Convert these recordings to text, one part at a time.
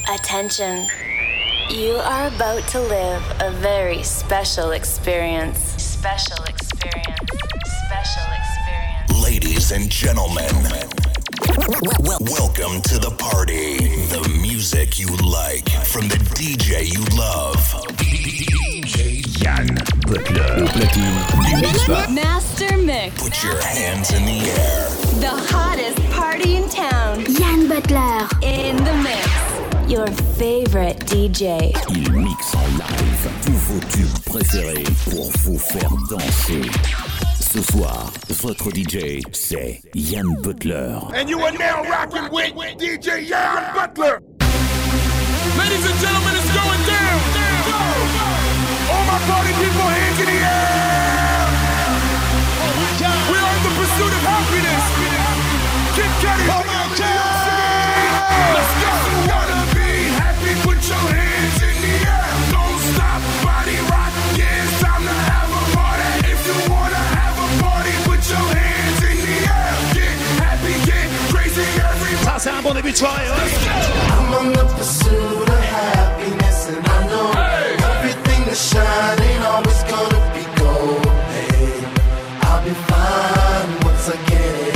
Attention. You are about to live a very special experience. Special experience. Special experience. Ladies and gentlemen, welcome to the party. The music you like from the DJ you love. DJ Yann Butler. Master Mix. Put your hands in the air. The hottest party in town. Yann Butler. In the mix. Your favorite DJ. Il mixe en live tous vos tubes préférés pour vous faire danser. Ce soir, votre DJ, c'est Yann Butler. And you are now rocking with DJ Yann Butler. Ladies and gentlemen, it's going down. All my party people, hands in the air. We are in the pursuit of happiness. Kid Cudi, Oh my God. let's go. You wanna be happy, put your hands in the air. Don't stop, body rock, yeah, it's time to have a party. If you wanna have a party, put your hands in the air. Get happy, get crazy, everybody. Ça, c'est un bon début de soirée. I'm on the pursuit of happiness, and I know everything that shine ain't always gonna be gold. Hey, I'll be fine once I get it.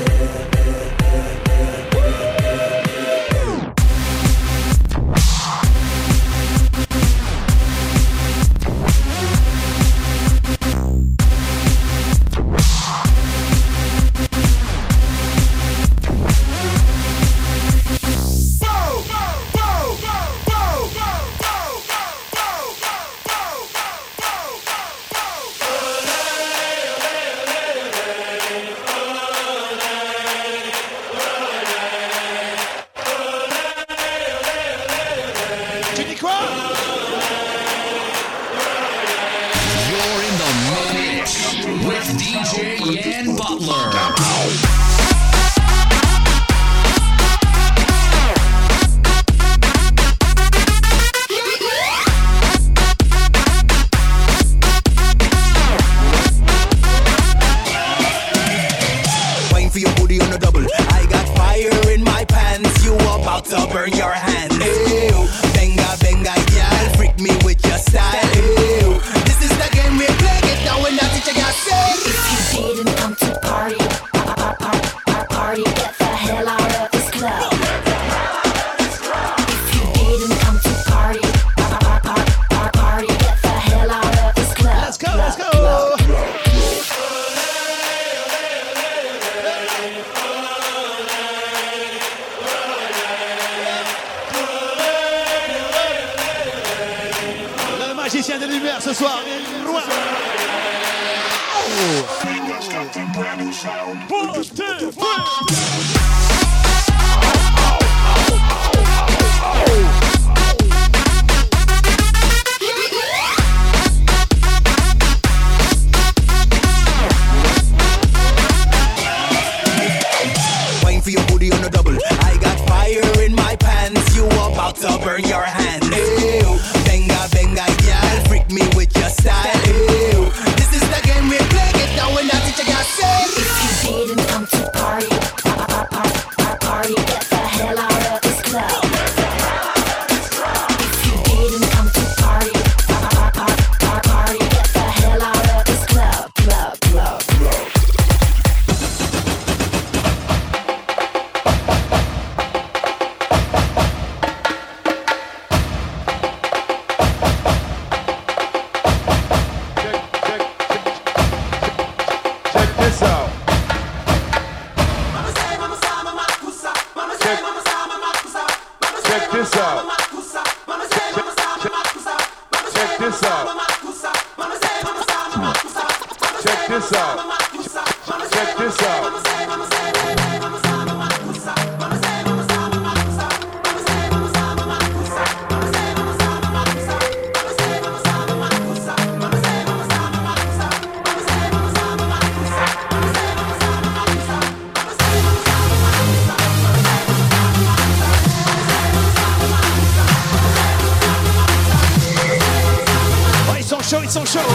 Ils sont chauds.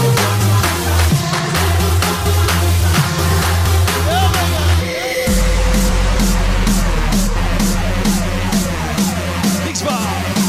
Big Spot.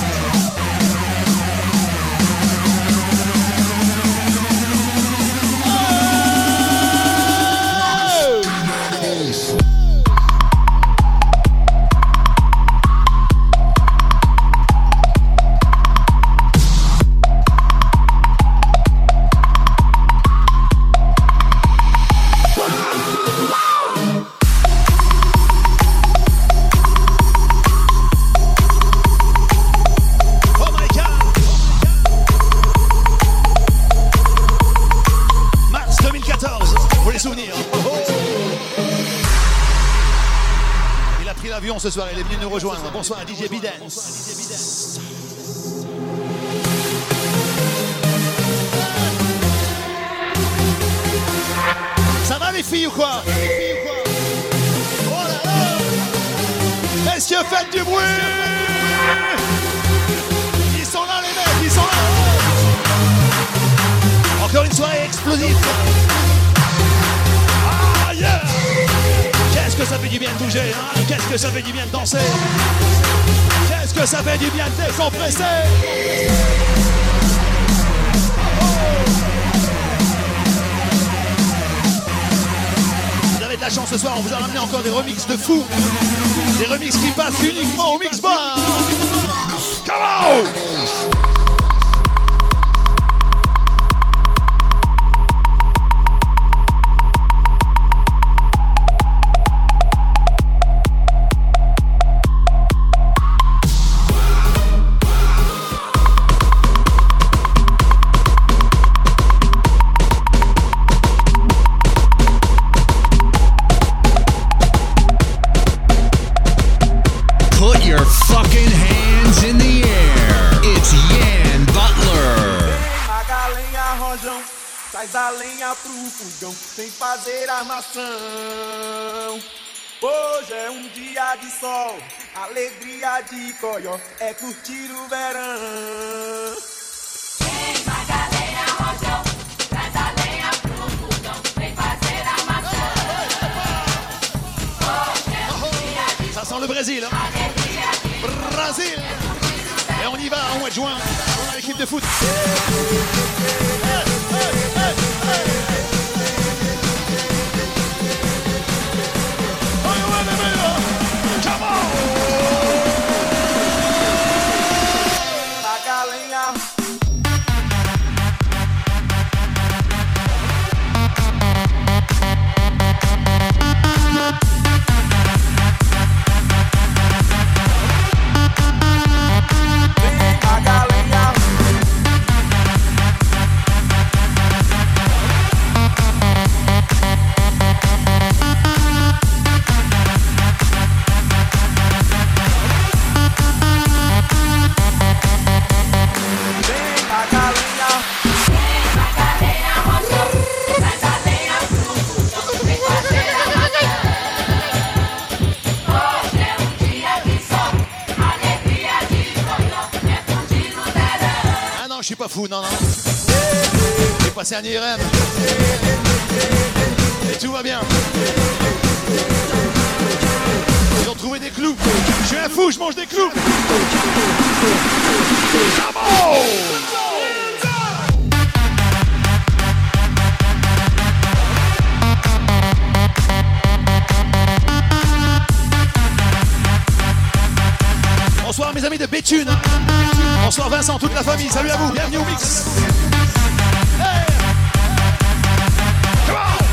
l'avion ce soir, il est venu nous rejoindre. Bonsoir à DJ Bidance. Ça va les filles ou quoi? Oh là là! Est-ce que faites du bruit? Ils sont là les mecs, ils sont là! Encore une soirée explosive! Ah yeah! Qu'est-ce que ça fait du bien de bouger, hein? Qu'est-ce que ça fait du bien de danser? Qu'est-ce que ça fait du bien de décompresser? Vous avez de la chance ce soir, on vous a ramené encore des remixes de fous. Des remixes qui passent uniquement au mix bar. Come on! Traz a lenha pro fogão, sem fazer armação. Hoje é um dia de sol, alegria de coió, é curtir o verão. Vem, Magalenha, rojão, traz a lenha pro fogão, sem fazer armação. Hoje é um dia de sol. Ça sent le Brésil, hein? Brésil! Et on y va en mois de juin, on a l'équipe de foot. Je suis pas fou, non, non. J'ai passé un IRM. Et tout va bien. Ils ont trouvé des clous. Je suis un fou, je mange des clous. Bonsoir mes amis de Béthune. Bonsoir Vincent, toute la famille, salut à vous, bienvenue au mix. Hey! Come on!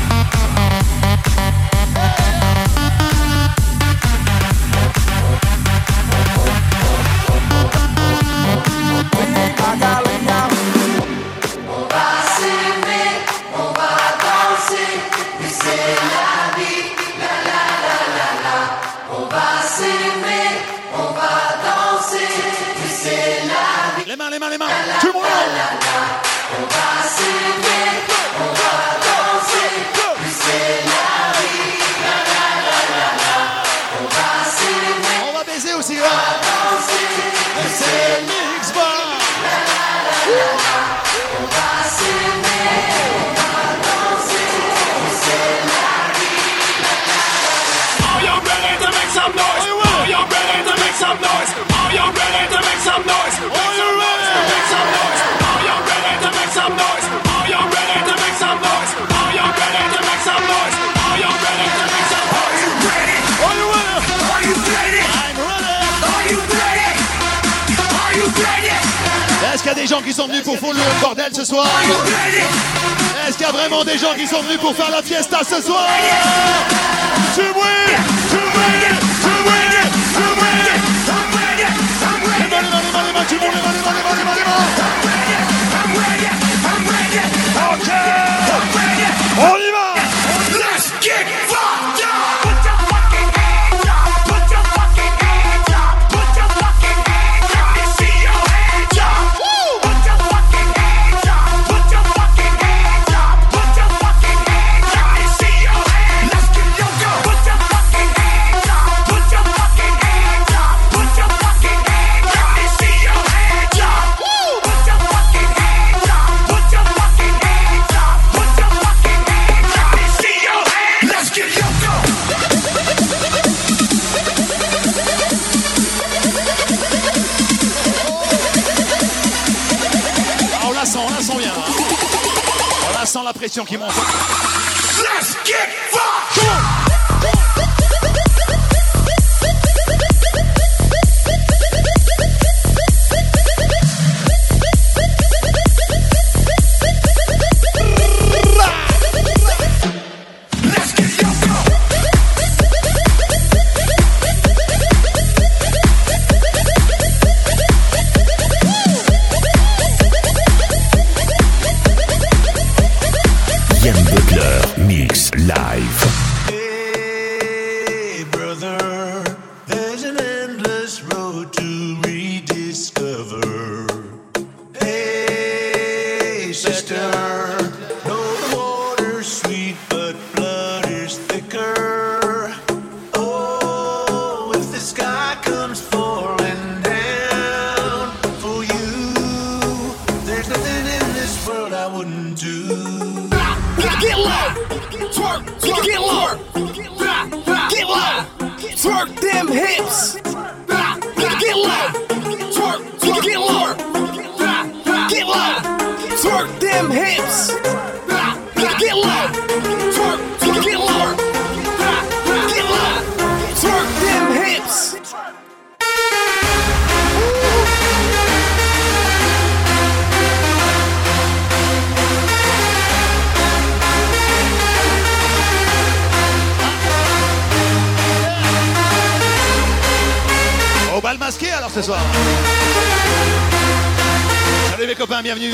On va s'aimer, on va danser, et c'est la vie, la la la la la. On va s'aimer, on va danser, et c'est la vie. Les mains, tout le monde! On va s'aimer, on va danser, et c'est la vie, la la la la la. On va s'aimer, on va baiser aussi, on va danser, et c'est le mix bar. La la la la la. On va s'aimer, on va danser, et c'est la vie, la la la la. Are you ready to make some noise? Are you ready to make some noise? Are you ready to make some noise? Are you ready to make some noise? Are you ready to make some noise? Are you ready to make some noise? Are you ready to make some noise? Are you ready to make some noise? Are you ready? Are you ready? Are you ready? I'm ready. Are you ready? Are you ready? Est-ce qu'il y a des gens qui sont venus pour foutre le bordel ce soir? Are you ready? Est-ce qu'il y a vraiment des gens qui sont venus pour faire la fiesta ce soir? Tu bruit! Tu bruit! Tu bruit! Tu bruit! I'm ready! I'm ready! Les mains, tu bruit, les mains. I'm ready! I'm ready! Ok! I'm ready! On y va! Let's get fucked up! Put your fucking hands up! Put your pression qui monte. Let's get fucked! Yann Butler Mix Live. Hey, brother, there's an endless road to rediscover. Hey, sister, know the water's sweet, but blood is thicker. Oh, if the sky comes falling down for you, there's nothing in this world I wouldn't do. Get low, twerk, twerk, get low, get low, twerk them hips. Get low, twerk, twerk, get low, get low, twerk them hips. Get low, twerk, twerk, get low, get low, twerk them hips. Au bal masqué alors ce soir. Salut mes copains, bienvenue.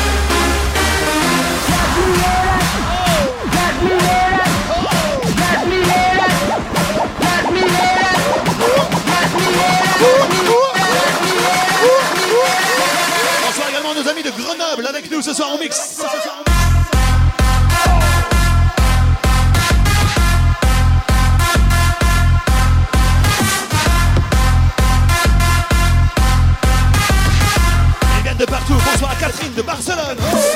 Bonsoir également nos amis de Grenoble avec nous ce soir en mix. De partout, bonsoir à Catherine de Barcelone.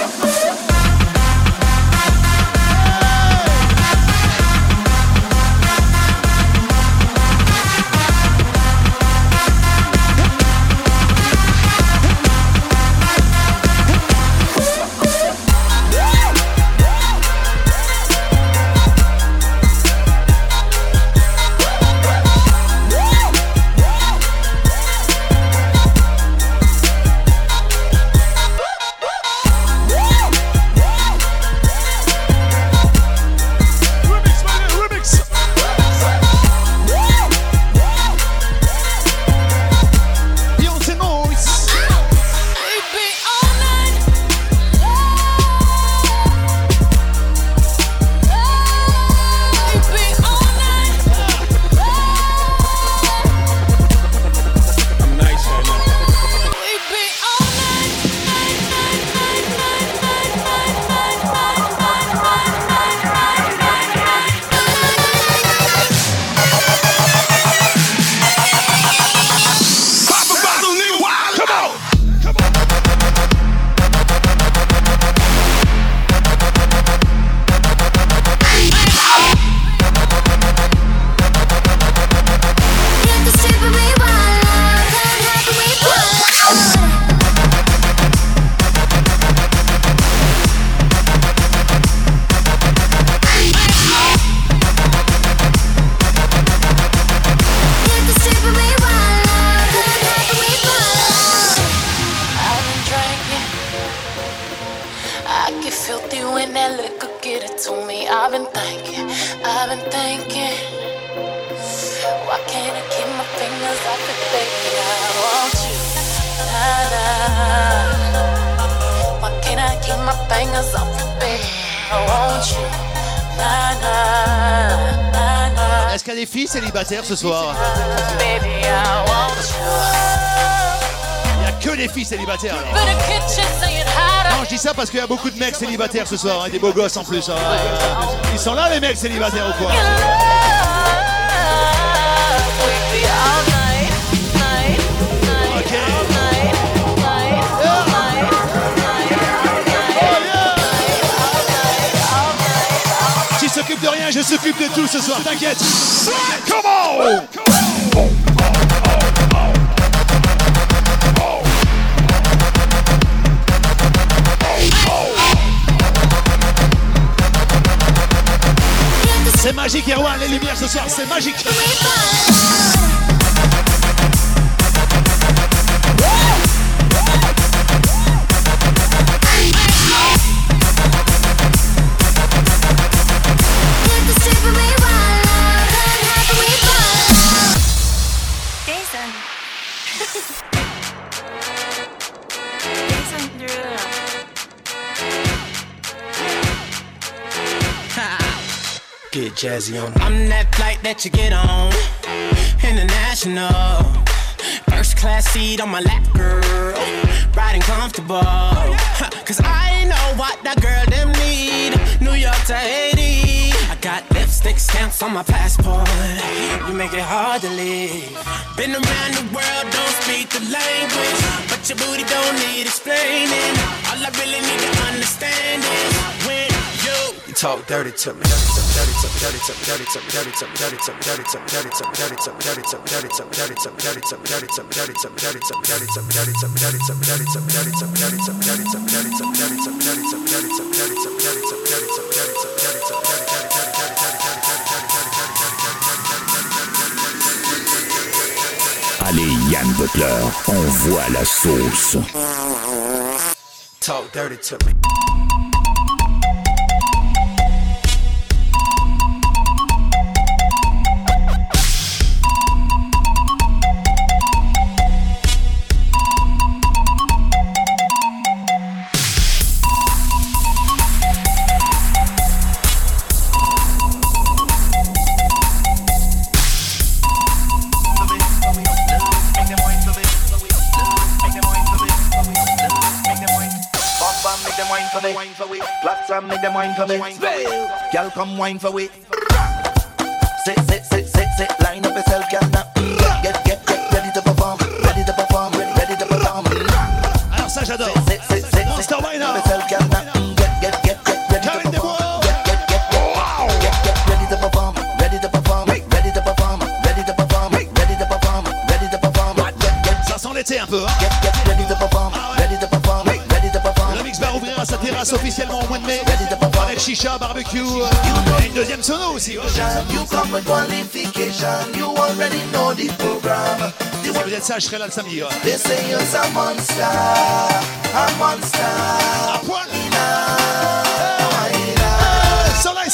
Est-ce qu'il y a des filles célibataires ce soir? Il n'y a que des filles célibataires alors. Non, je dis ça parce qu'il y a beaucoup de mecs célibataires ce soir, hein, des beaux gosses en plus. Hein. Ils sont là les mecs célibataires ou quoi? Ok. Tu s'occupes de rien, je s'occupe de tout ce soir, t'inquiète. Come on! Tier 1, les lumières ce soir, c'est magique. Get jazzy on. I'm that flight that you get on, international. First class seat on my lap, girl, riding comfortable. Cause I know what that girl them need. New York to Haiti. I got lipstick stamps on my passport. You make it hard to leave. Been around the world, don't speak the language, but your booty don't need explaining. All I really need to understand is when you talk dirty to me. Allez, Yann Butler, envoie la sauce. Talk dirty to me. Make them wine for me. Girl, come wine for we. Sit, line up yourself, girl. Now get ready to perform, ready to perform, ready to perform. Alors ça j'adore. Monster Wine up. Get ready to perform. Get ready to perform, ready to perform, ready to perform, ready to perform, ready to perform, ready to perform. Ça sent l'été un peu. Hein? Get ready to perform, ready to perform, ready to perform. Le mix va ouvrir à sa terrasse officiellement au mois de mai. Avec chicha, barbecue, et une deuxième sono aussi. Ouais. You come with qualification, you already know the program. Si vous êtes sage, je serai là le samedi. Ouais. They say you're a monster, a monster. À poil. Soleil.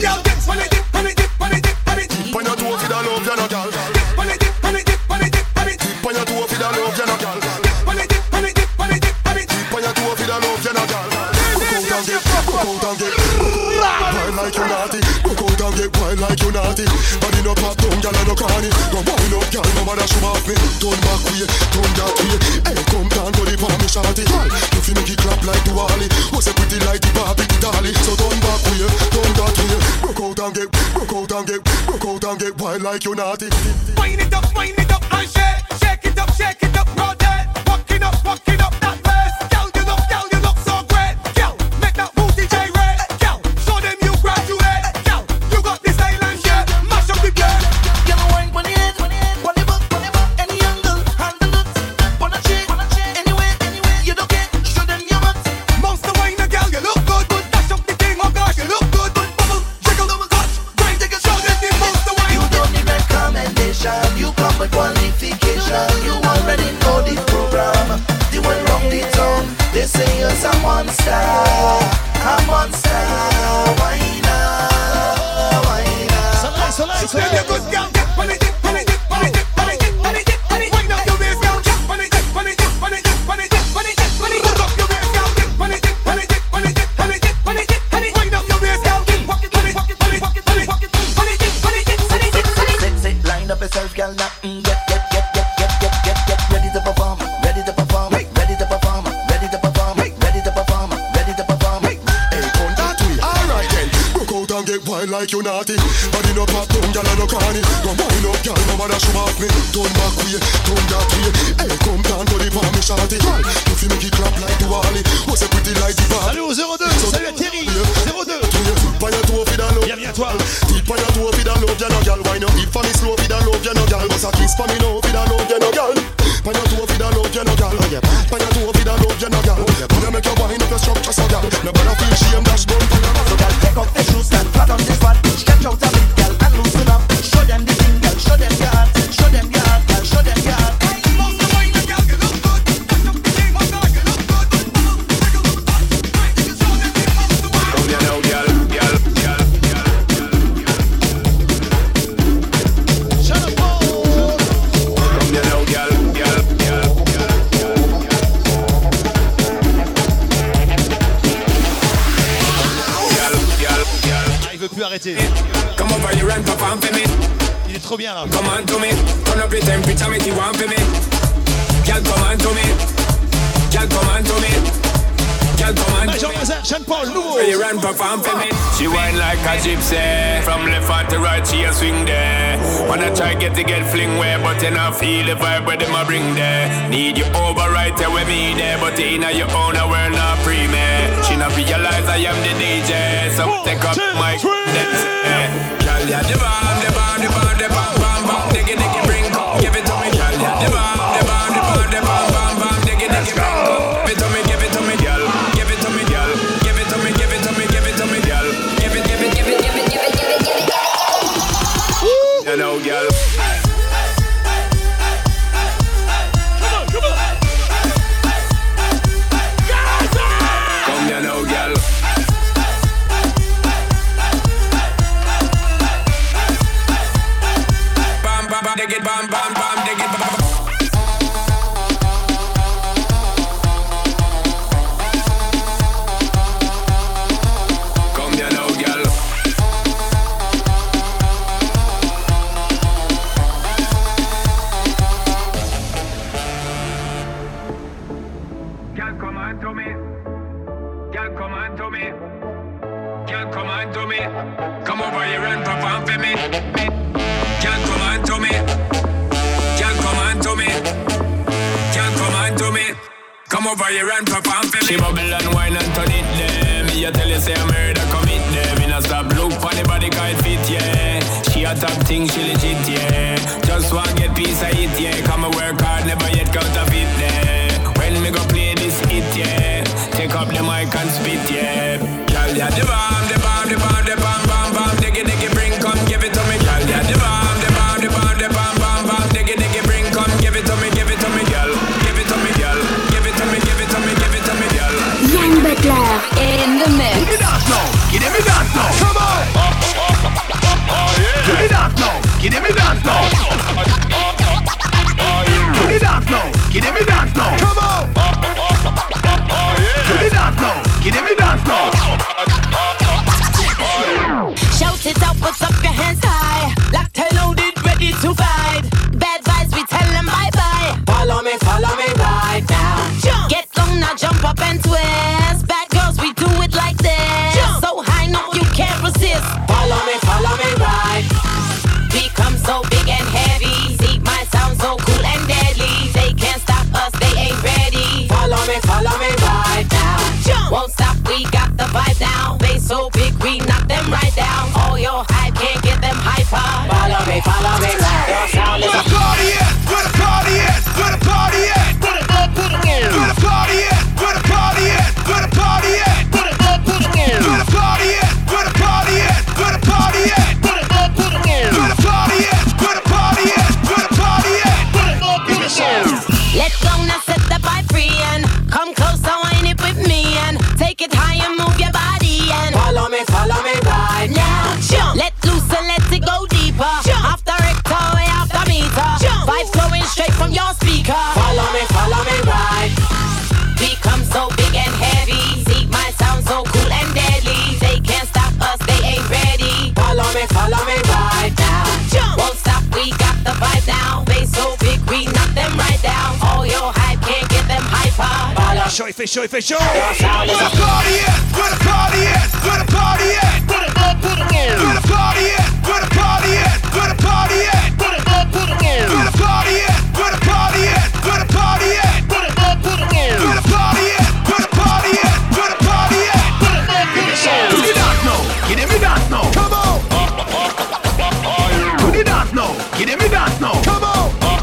Like you naughty, go out and get wild like you naughty. Body no pop down, gyal no carny. Go wind up, gyal, no matter show off me. Turn back way, turn that way. Hey, come down, go the palm shawty. You feel make it clap like the Wally. What's a pretty like the Barbie, the dolly. So turn back way, turn that way. Go out and get wild like you naughty. Wind it up, and shake it up, rotate. Walking up that bass. Girl, you look so great. Girl, make that booty gyrate. Girl, show them you graduate. Girl, you got the style and shit. Mash up the place. Girl, wine on the head, on the butt, any angle, handle it. Wanna change, anyway, you don't care. Show them your butt. Monster wine, girl, you look good. Dash up the thing, oh gosh, you look good. Bubble, jiggle, touch, grind, show them the monster wine. You don't need recommendation, you come with qualification. You already know the program. The one round the town, they say you're a monster, whiner. Soleil. You're good, girl. When it, wind up your waist, girl. When it, hook up your waist, girl. When it, wind up your waist, girl. Sit, line up yourself, girl. Now get ready to perform, ready to perform, ready to perform, ready to perform, ready to perform, ready to perform. Hey, turn that way. Alright then, go out and get wild like you naughty. Body no pop down, gyal no carny. Go wind up, gyal, no matter show off me. Turn back way, turn that way. Hey, come down, go the palm shawty. You feel make it clap like the Wally. What's a pretty like the Barbie. Salut au 02, salut à Thierry, 02. Bienvenue à toi. Tip on your toe, fi da love ya no gyal. Wine up, hip for me slow, fi da love ya no gyal. Bust a kiss for me now, fi da love ya no gyal. On your toe, fi da love ya no gyal. On your toe, fi da love ya no gyal. Wanna make you wine up your structure so gyal. No bother feel shame, dash gun for your mouth. So girl, take off the shoes, stand flat on this spot. Stretch out a bit, girl, and trop bien là. Come on to me, turn up the temperature, make you want for me. Girl, come on to me. Girl, come on to me. Girl, come on to me. Jean-Paul, nouveau. You run, perform for me. She whine like a gypsy. From left hand to right, she a swing there. Wanna try get fling where, but you not feel the vibe where them a bring there. Need you over right there with me there, but in your own world not free me. She not realize I am the DJ, so take up my next. Girl, yeah, the bomb, the bomb, the bomb, the bomb, bomb, bomb, diggy, diggy, bring, give it to me, girl, yeah, the bomb, the bomb, the bomb, the bomb, bomb, bomb, diggy, diggy, bring, give it to me, girl, give it to me, girl, give it to me, give it to me, give it to me, girl, give it, give it, give it, give it, give it, give it, give it, you know, girl. Dig it, bam, bam, bam, dig it, bam. Come here now, girl. Girl, come on to me. Girl, come on to me. Girl, come on to me. Come over here and perform for me. Girl, come on to me. Girl, come on to me. Girl, come on to me. Come over here and perform for me. She bubble and wine and turn it there. Me a tell you say I murder commit there. Me not stop look for the body can't fit, yeah. She a top thing, she legit, yeah. Just want get piece of it, yeah. Come and work hard, never yet counterfeit there. When me go play this hit, yeah. Take up the mic and spit, yeah. Girl, yeah, the bomb, the bomb, the bomb, the bomb, bomb, bomb. Diggy, diggy, bring, come give it to me, girl, yeah, the bomb. Yann Butler in the mix. Give me that now, give me that now. Come on. Give me that now, give me that now. Give me that now, give me that now. Come on. Give me that now, give me that now. Shout it out, put up your hands high. Locked and loaded, ready to fight. Bad vibes, we tell them bye-bye. Follow me right now. Jump. Get down now, jump up and twist. Bad girls, we do it like this. Jump. So high, no, you can't resist. Follow me right. Become so big and heavy. See my sound so cool and deadly. They can't stop us, they ain't ready. Follow me right now. Jump. Won't stop, we got the vibe now. They so big, we knock them right down. All your hype can't get them hyper. Follow me right. Your sound is a party at, where the party at, where the party at. Put it up, put it in. Where the party at, where the party at, where the party at. Put it up, put it in. Where the party at, where the party at, where the party at. Put it up, put it in. Where the party at, where the party at, where the party at. Put it up, put it in. Let's go now, set the vibe free and come close, so wind it with me and take it high and move your body and follow me right now. Jump. Let loose and let it go deeper. Jump. After rector, way after meter. Jump. Vibes flowing straight from your speaker. Follow me right. Become so big and heavy. See my sound so cool and deadly. They can't stop us, they ain't ready. Follow me right now. Jump. Won't stop, we got the vibe now. They so big, we knock them right down. All your hype can't get them hyper. Il fait chaud. Where the party at, where the party at, where the party at. Put it up, put it in. Where the party at, where the party at, where the party at. Put it up, put it in. Where the party at, where the party at, where the party at. Put it up, put it in. Where the party at, where the party at, where the party at. Put it up, put it in. Give me that now, give me that now. Come on. Give me that now, give me that now. Come on.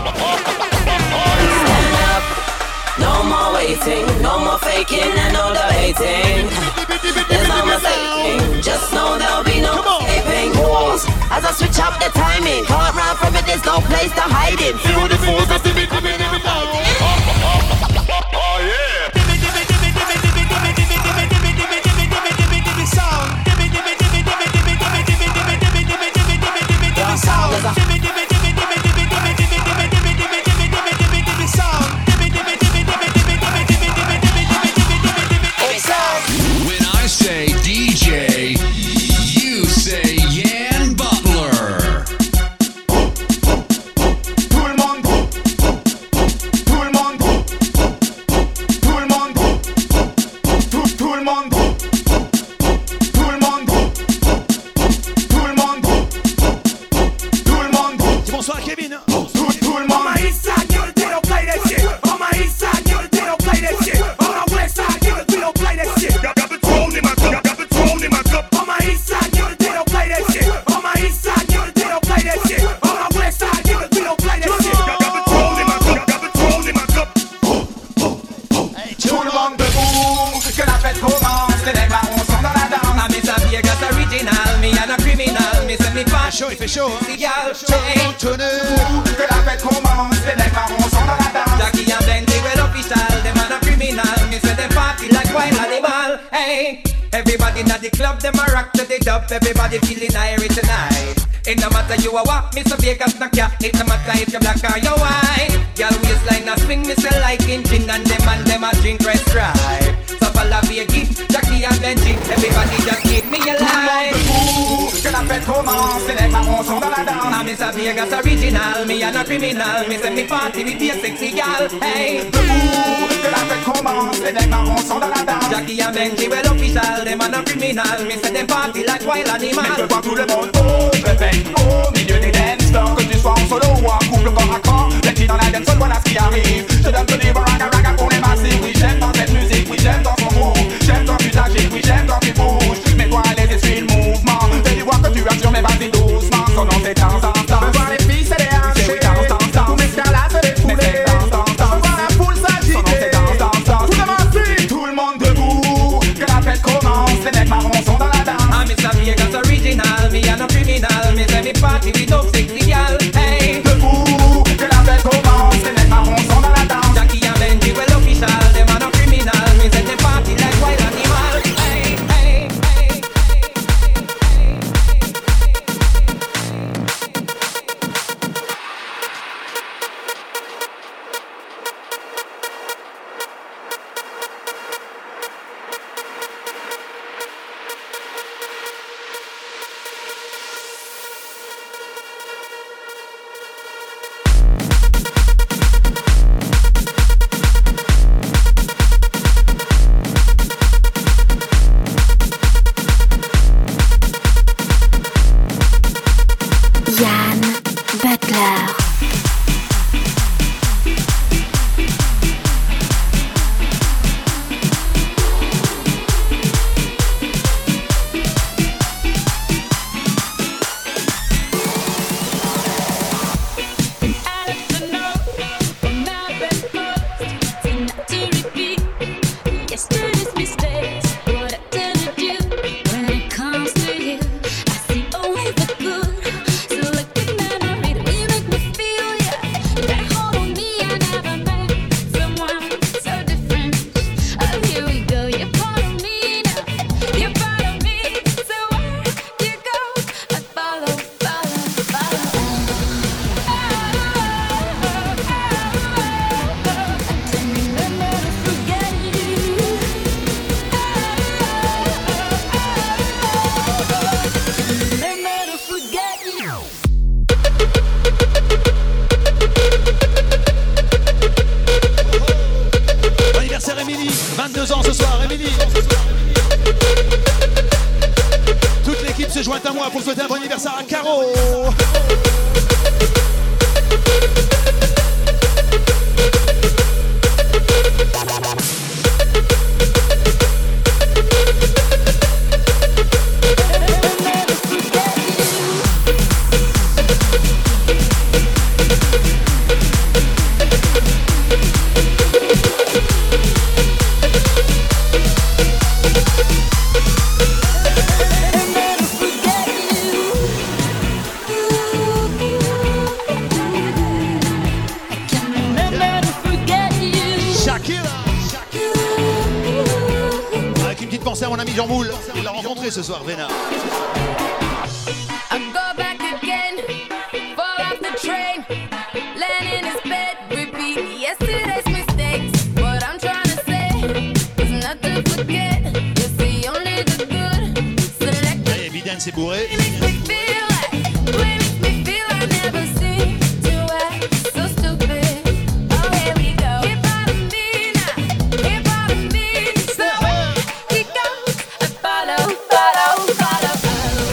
Stand up, no more waiting, no more faking and no debating. There's no mistaking, just know there'll be no escaping. Moves as I switch up the timing. Can't run from it, there's no place to hide it. Feel the force that's coming every time. Oh yeah. When I say DJ, you say Yann Butler. chaud, il fait chaud. Que la fête commence, les mecs marrons sont dans la danse. Jackie and Benji, well official, them are the criminal. Me say them party like wild animal. Hey, everybody in the club, them a rock to the dub. Everybody feeling irie tonight. It no matter you a what, Mr. Vegas knock ya. It no matter if you black or you white. Y'all waistline a swing, me say like in gin and them a drink red stripe. So follow Vegas, Jackie and Benji, everybody just keep me alive. Que la fête commence, les mecs marrons sont dans la danse. I'm Mr. Vegas original, me and a criminal. Me say me party with your sexy gal. Hey, que la fête commence, les mecs marrons sont dans la danse. Jackie and Benji, well official, them and a criminal. Me say them party like wild animal. Mais je vois tout le monde au milieu des dance floors. Que tu sois en solo ou en couple corps à corps, les filles dans la dance floor, voilà ce qui arrive. Je donne ce livre raga pour les massifs. Oui, j'aime dans cette musique, oui, j'aime dans son move. J'aime quand tu t'agites, oui, j'aime quand tu bouges. Mais toi, allez, suis le mouvement. Fais du voir que tu assures, mais vas-y doucement. Son nom c'est danse, danse, danse. Voir les filles, c'est des hanches. Danse, danse, danse. Tous mes stars là, c'est des foulées. Danse, danse, danse. Voir la foule s'agiter. Son nom c'est danse, danse, danse. Tout le monde suit, tout le monde debout. Que la fête commence, les mecs marrons sont dans la danse. I'm Mr. Vegas original, me and no criminal. Me say me party with no sexy gal. Hey, debout. Que la fête commence, les mecs marrons sont dans la danse. Jackie and Benji, well official, them are no criminal. Me say they party like wild animal. Hey, hey, hey. Yann Butler. Yesterday's mistakes, what I tend to do when it comes to you. I see only the good. So look at memory, you make me feel yeah. That hold on me, I never met someone so different. Oh, here we go, you're part of me now. You're part of me. So where you go, I follow, follow, follow. I can remember to forget you. Remember to forget you. Bon anniversaire Émilie, 22 ans ce soir, Émilie. Toute l'équipe se joint à moi pour souhaiter un bon anniversaire à Caro. Avec une petite pensée à mon ami Jean Moule. Il l'a rencontré ce soir, Vénard. I go back again, fall off the train, land in his bed, repeat yesterday's mistakes. What I'm trying to say is not to forget. You see only the good. Select Allez, Biden s'est bourré. makes me feel like, makes me feel I never seen to act so stupid. Oh, here we go. You're part of me now. You're part of me. So where he goes, I follow, follow, follow, follow.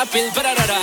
appeal, ba-da-da-da.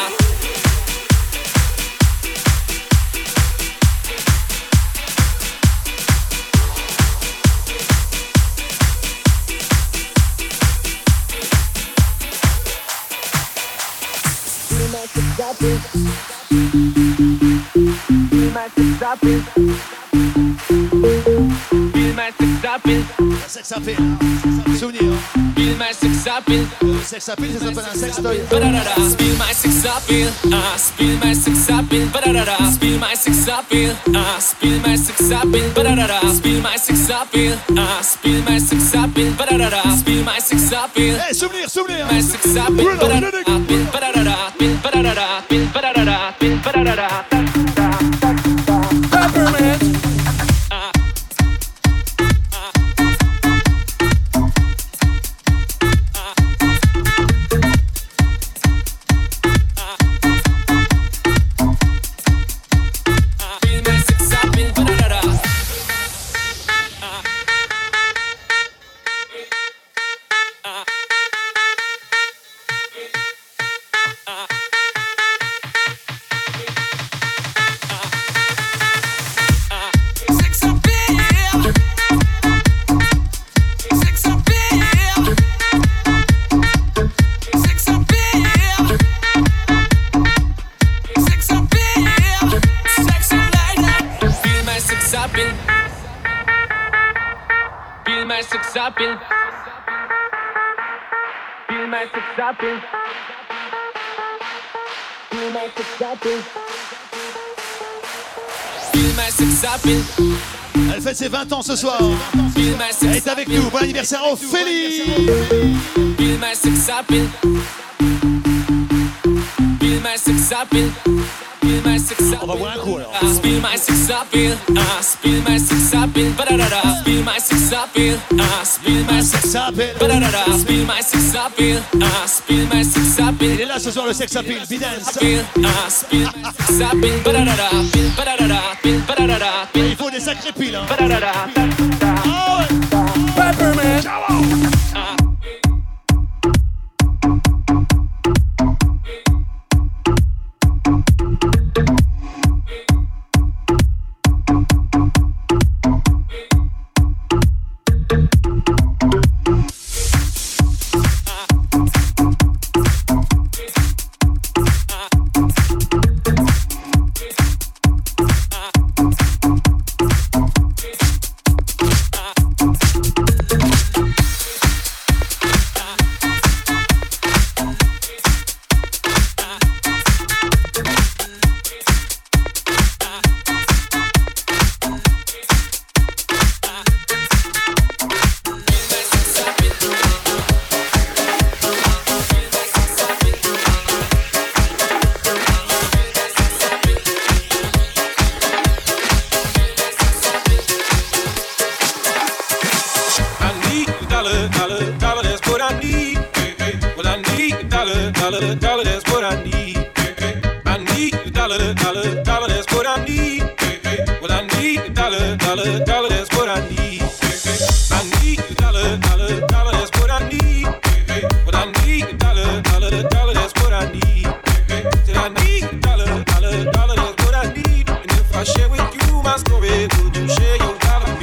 Sex appeal. Souvenir. Spill my sex appeal. Sex appeal, ça s'appelle un sextoy. Spill my sex appeal. Spill my sex appeal. Spill my sex appeal. Spill my sex appeal. Spill my sex appeal. Spill my sex appeal. Spill my sex appeal. Hey, souvenir, souvenir. My sex appeal. Peppermint. Elle fête ses 20 ans ce soir. Elle est avec nous. Bon anniversaire Ophélie. Spill my sex appeal. Spill my sex appeal. Spill my sex appeal. On va boire un coup alors. Spill my sex appeal. Spill my sex appeal. Spill my sex appeal. Spill my sex appeal. Spill my sex appeal. Spill my sex appeal. Il est là ce soir le sex appeal. Bidance. Spill my sex appeal. Il faut des sacrés piles. Hein. Peppermint. dollar, that's what I need. I need a dollar, dollar, dollar, that's what I need. Well, I need a dollar, dollar, dollar, that's what I need. I need a dollar, dollar, dollar, that's what I need. Well, I need a dollar, dollar, dollar, that's what I need. Said I need a dollar, dollar, dollar, that's what I need. And if I share with you my story, would you share your dollar with me?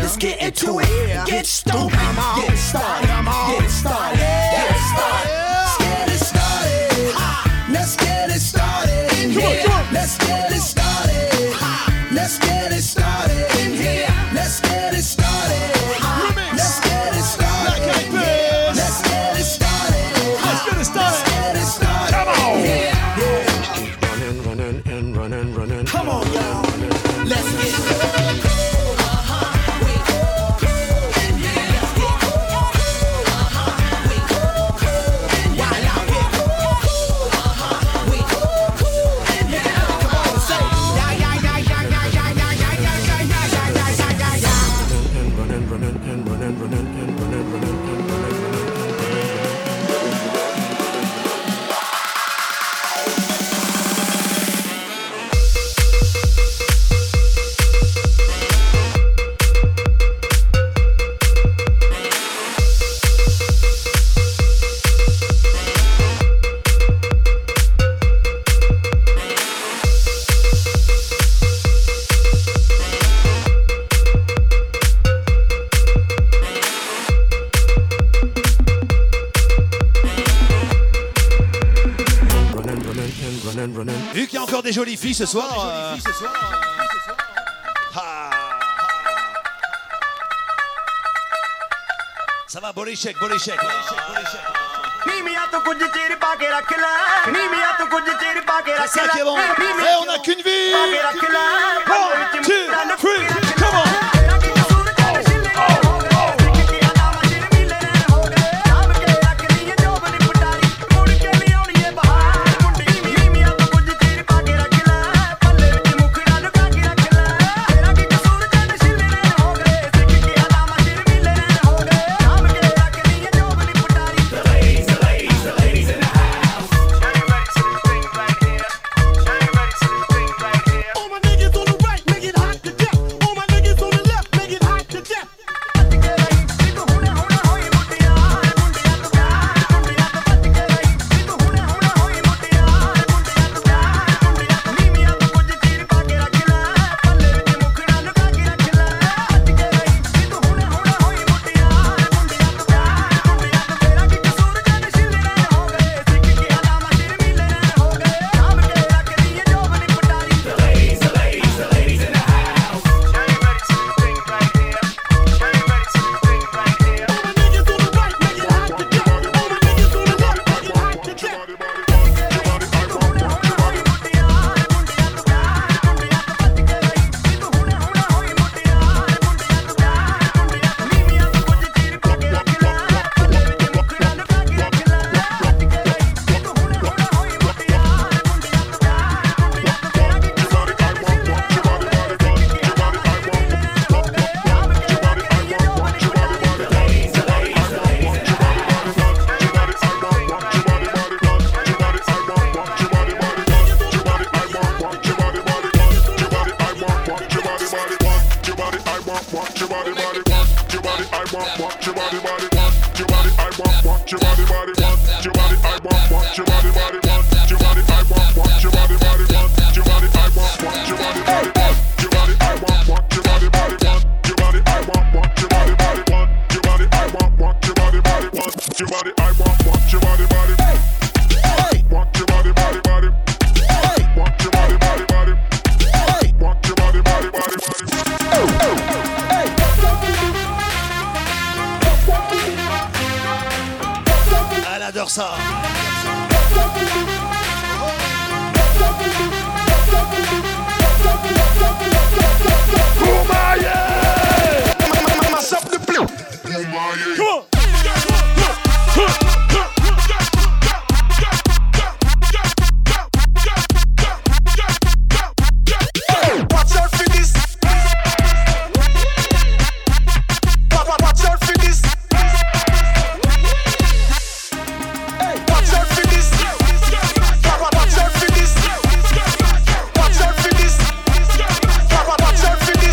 Let's get into it. Get stoked. Get it started. Get it started. Get it started. Let's get it started. Let's get it started in here. Let's get it started. Let's get it started in here. Let's get it started. Let's get it started. Let's get it started. Let's get it started. Let's get it started. Come on. Running and running. Come on, y'all. Let's get it. Vu qu'il y a encore des jolies filles ce soir. Ça va, bon échec. C'est ça qui est bon. Et on n'a qu'une vie. 1, 2, 3, come on. Elle adore ça. Watch out for this.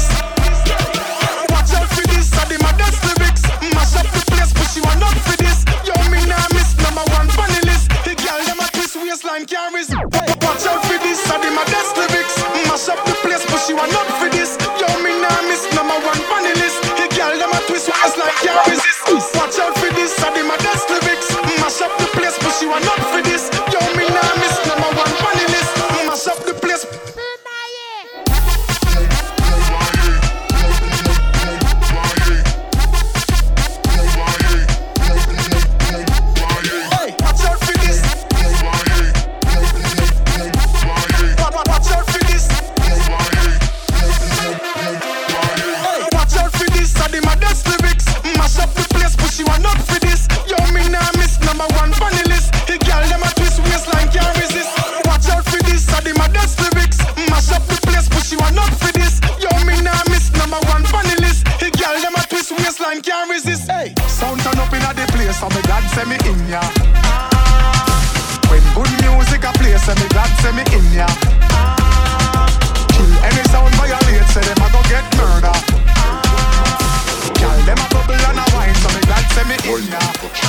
waistline can't resist. Hey, sound turn up inna the place, so me glad say me in ya. When good music a play, say me glad say me in ya. Kill any sound violate, say them a go get murder. Girl, them a bubble and a wine, so me glad say me in ya.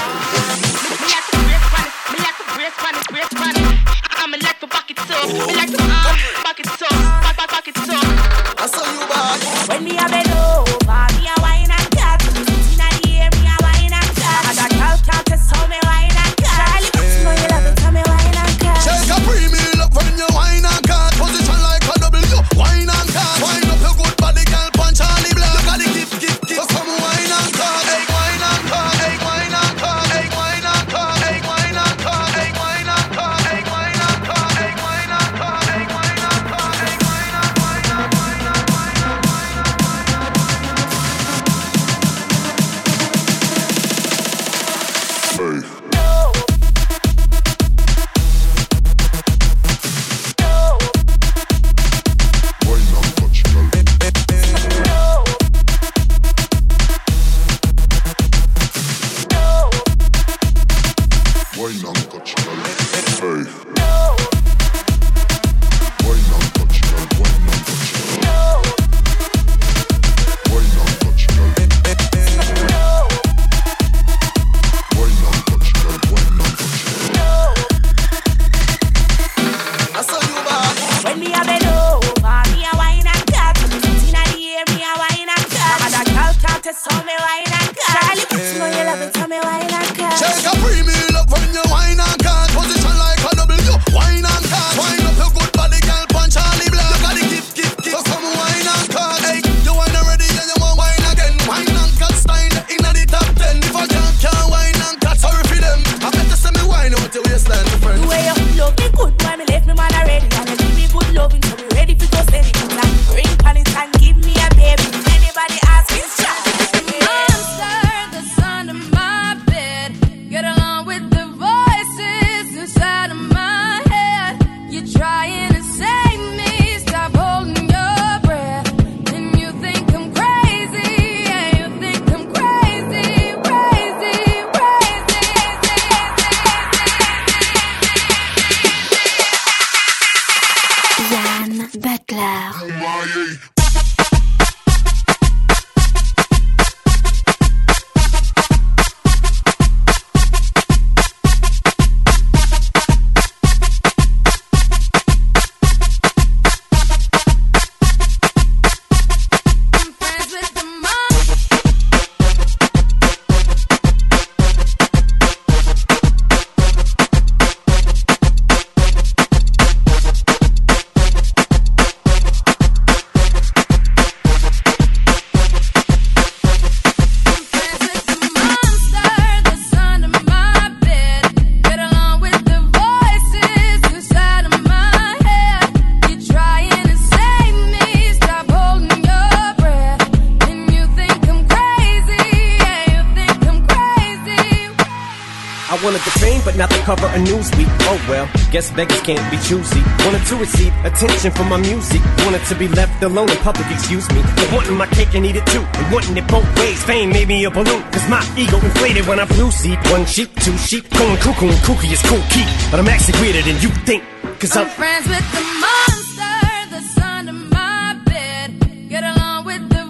Me like to brace pan it. Me like to back it up. Me like to back it up, back it up. I saw you back. When me a bend over, me a wine and cat. Inna the air, me a wine and cat. And a girl can't test how me wine and cat. Charlie, you know you love it, how me wine and cat. Shake a premium up when you wine and cat. Position like a W, wine and cat. Wine up your good body, girl, punch Charlie Black. You got the gift. So come wine and cat. Hey, wine and cat. Hey, wine and cat. Hey, wine and cat. Hey, wine and cat. Hey, wine and cat. Hey, wine and cat. Hey, wine and cat. Hey, wine and cat. Hey, wine and wine and wine and wine and wine and wine. Hey. Cover a newsweek, oh well, guess beggars can't be choosy. Wanted to receive attention from my music, wanted to be left alone in public, excuse me. But wanting my cake and eat it too, and wanting it both ways. Fame made me a balloon, cause my ego inflated when I flew seed. One sheep, two sheep, going cuckoo and kooky is cool key. But I'm actually weirder than you think, cause I'm friends with the monster that's under my bed. Get along with the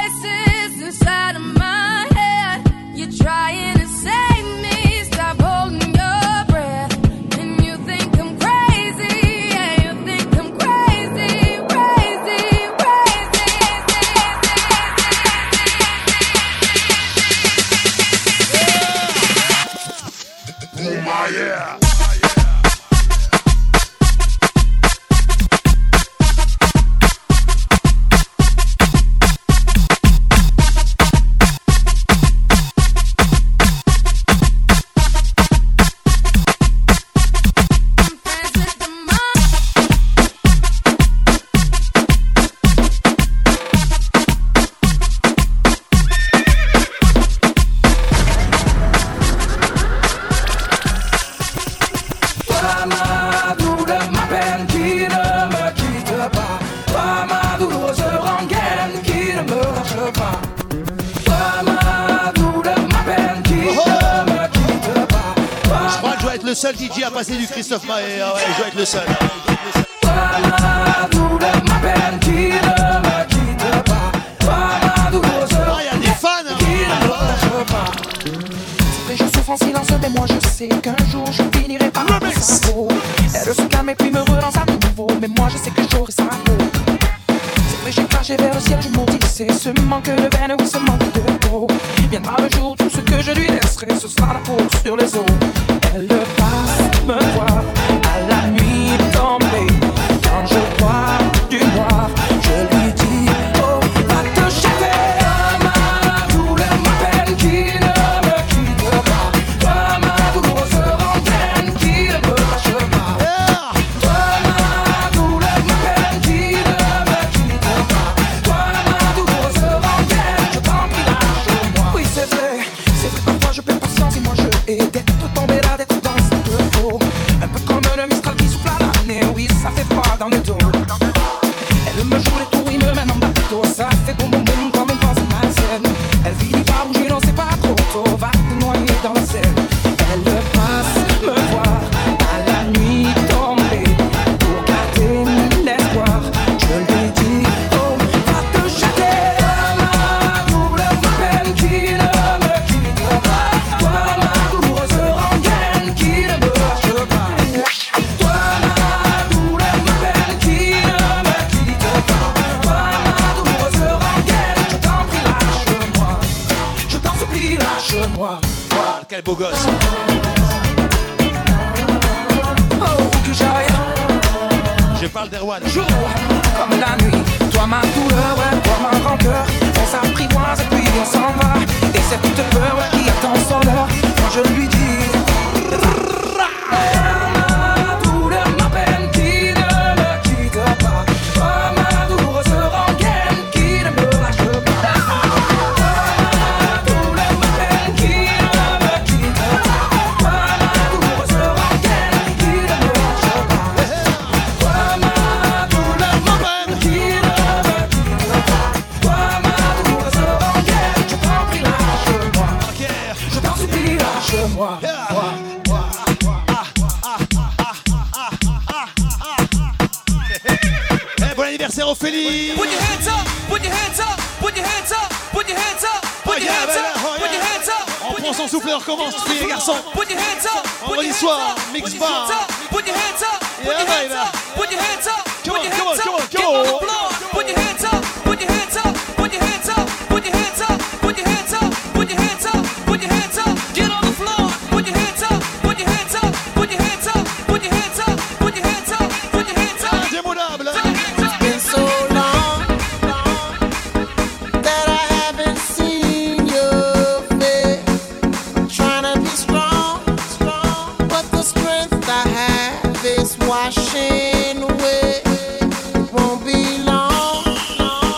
voices inside of my head. You're trying to save me, stop holding your breath. And you think I'm crazy, yeah, you think I'm crazy, crazy, crazy. Oh my yeah. être le seul DJ à passer du Christophe Maé. Ah ouais, je dois être le seul. Toi, ma douleur, ma peine qui ne me quitte pas. Toi, ma douloureuse. Ah, y a des fans, hein. Qui ne me lâche pas. C'est vrai, je souffre en silence, mais moi je sais qu'un jour je finirai par me cerveau. Elle se calme et puis me relance à nouveau. Mais moi je sais que j'aurai sa peau. C'est vrai, j'ai craché vers le ciel, je maudissais ce manque de veine ou ce manque de peau. Viendra le jour, tout ce que je lui laisserai, ce sera la peau sur les os. Elle passe me voir à la nuit tombée. Quand je vois du noir, je lui dis oh, va te jeter. Ma douleur, ma peine qui ne me quitte pas. Toi, ma douloureuse rengaine qui ne me lâche pas. Toi, ma douleur, ma peine qui ne me quitte pas. Toi, ma douloureuse rengaine, je t'en prie, lâche-moi. Oui, c'est vrai, parfois je perds patience et moi je hais d'être tombé là, d'être dans ce faux. Un peu comme le Mistral qui souffle à l'année, oui, ça fait froid dans le dos. Elle me joue les tours, il me mène en bateau. Ça fait boum boum boum comme une pensée malsaine. Elle finit par bouger, non c'est pas trop tôt. Va te noyer dans la Seine. Elle passe me voir à la nuit tombée. Pour garder l'espoir, je lui dis oh, va te jeter. Ma douleur, ma peine qui ne me quitte pas. Toi, ma douloureuse rengaine qui ne me lâche pas. Toi, ma douleur, ma peine qui ne me quitte pas. Toi, ma douloureuse rengaine, je t'en prie, lâche-moi. Je t'en supplie, lâche-moi. Ah, quel beau gosse. Oh, que j'aille Je parle d'Erwan. jour comme la nuit. Toi, ma douleur, ouais, toi, ma rancœur. On s'apprivoise et puis on s'en va. Et cette toute peur ouais, qui attend son heure. Quand je lui dis ma douleur, ma peine qui ne me quitte pas. Toi, ma douloureuse rengaine qui ne me lâche pas. Ma douleur, ma peine qui ne me quitte pas. Toi, ma douloureuse rengaine qui ne me lâche pas. Toi, ma douleur, ma peine qui ne me quitte pas. Toi, ma douloureuse rengaine, je t'en prie, lâche-moi. Je t'en supplie, lâche-moi. Eh, bon anniversaire Ophélie. Put your hands up, put your hands up, put your hands up, put your hands up, put your hands up, put your hands up. On prend son souffle et on recommence, filles et garçons. Put your hands up, Vendredi soir, mix bar. put your hands up, put Yeah, your hands baby. up, put your hands up, Come put on, your come on, hands come on, up, get come on the on. floor. Put your hands up, put your hands up, put your hands up, put your hands up, put your hands up, put your hands up, put your hands up, get on the floor. Put your hands up, put your hands up, put your hands up, put your hands up, put your hands up, put your hands up. Indémodable. It's been so long that I haven't seen your face. Trying to be strong, but the strength I have is washing away. It won't be long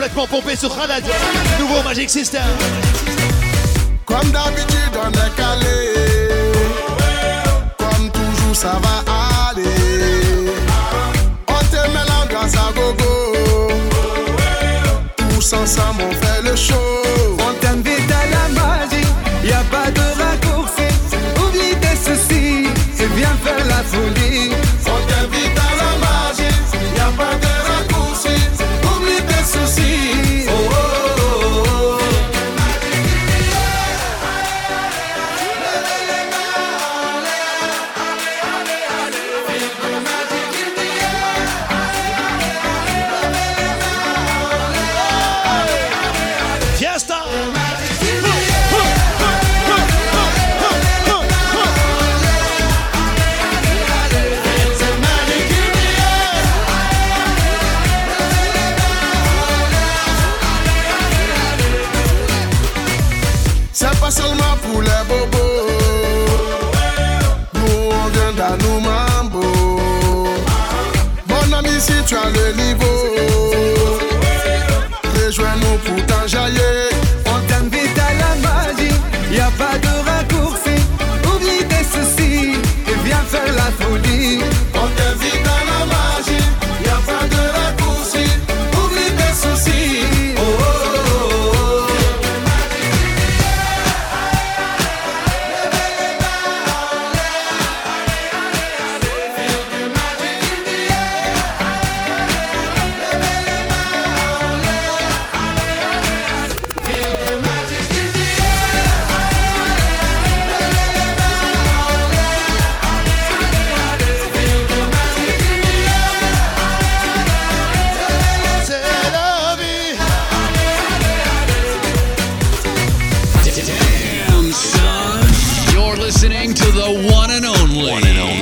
complètement pompé sur Khaled. Nouveau Magic System. Comme d'habitude on est calé. Comme toujours ça va aller. On te met l'ambiance à gogo. Tous ensemble on fait le show. On t'invite à la magie, y a pas de raccourci. Oublie tes soucis et viens faire la folie. On t'invite à la magie, y a pas de raccourci. Oublie tes soucis. Oh, oh, oh, oh. Fiesta. C'est pas seulement pour les bobos. Nous on vient d'Anou Mambo. Mon ami, si tu as le niveau, rejoins-nous pour t'enjailler. On t'invite à la magie, y a pas de raccourci. Oublie tes soucis et viens faire la folie. On t'invite à la magie, y a pas de raccourci. Oublie tes soucis. Oh, oh, oh, oh. C'est la vie. Damn, son. You're listening to the one and only,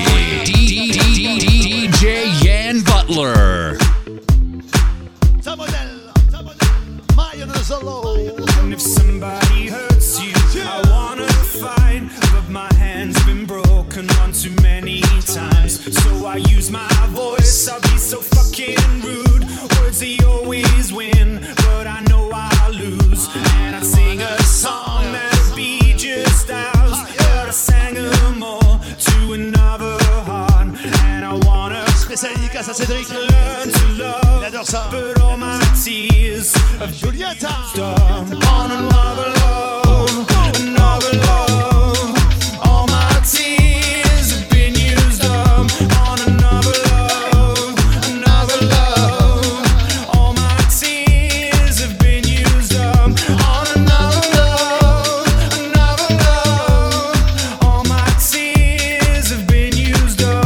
DJ Yan Butler. Ça modèle. Mayan Solo. And if somebody hurts you, I wanna fight, but my hand's been broken one too many times. So I use my voice, I'll be so fucking rude. Words they always win, but I know I'll lose. And I'd sing a song that'd be just ours, but I sang them all to another heart. And I wanna Spécial dédicace à Cédric. learn to love, Il adore ça. but all my tears have Julieta. on another love, another love. All my tears have been used up on another love, another love. All my tears have been used up on another love, another love. All my tears have been used up.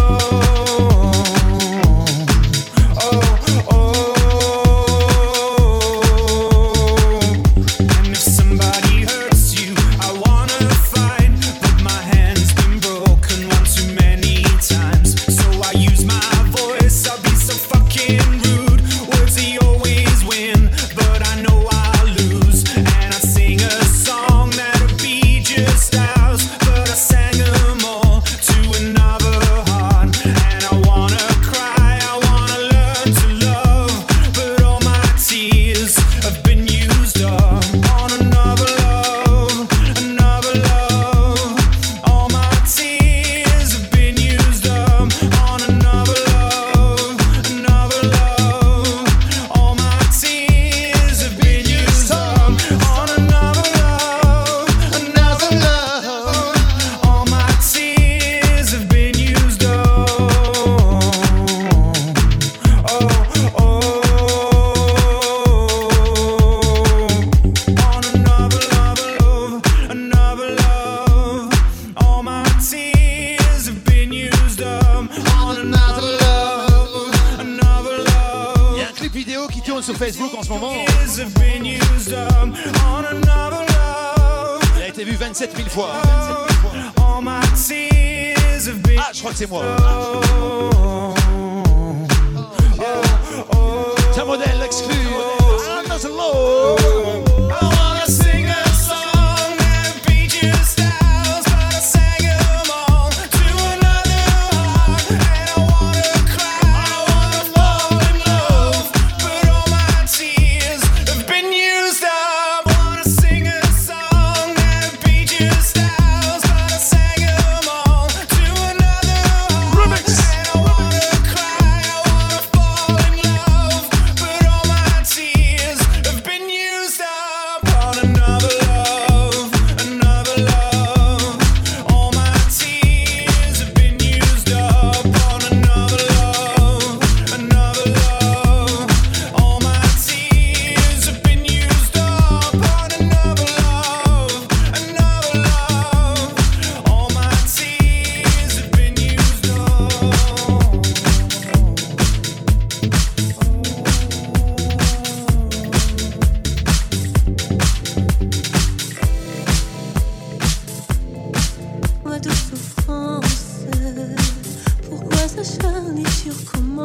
Oh, oh. And if somebody hurts you, I wanna fight, but my hand's been broken one too many times. So I use my voice, I'll be so fucking rude. Words they always win, but I know I'll lose. And I sing a song that'll be just ours, but I sang them all to another heart. And I wanna cry, I wanna learn to love, but all my tears have been used up on another love, another love. All my tears have been used up on another love, another love. All my tears have been used up on another love, another love. All my tears have been used up. Oh, oh. On another love, another love. All my tears have been used up on another love, another love. Il y a un clip vidéo qui tourne sur Facebook en ce moment. Tears have been used up on another love. Il a été vu 27 000 fois. All my tears have been. Ah, je crois que c'est moi. Tiens, modèle exclu. Another Love. I wanna sing a song that'd be just ours, but I sang 'em all to another heart. And I wanna cry, I wanna fall in love, but all my tears have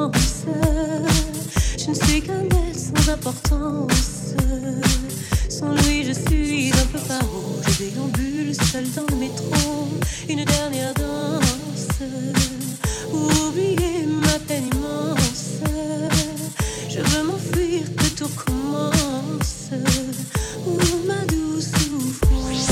silence. Je ne suis qu'un être sans importance. Sans lui, je suis un peu paro. Je déambule seul dans le métro. Une dernière danse. Oublier ma peine immense. Je veux m'enfuir, que tout recommence. Ou ma douce souffrance.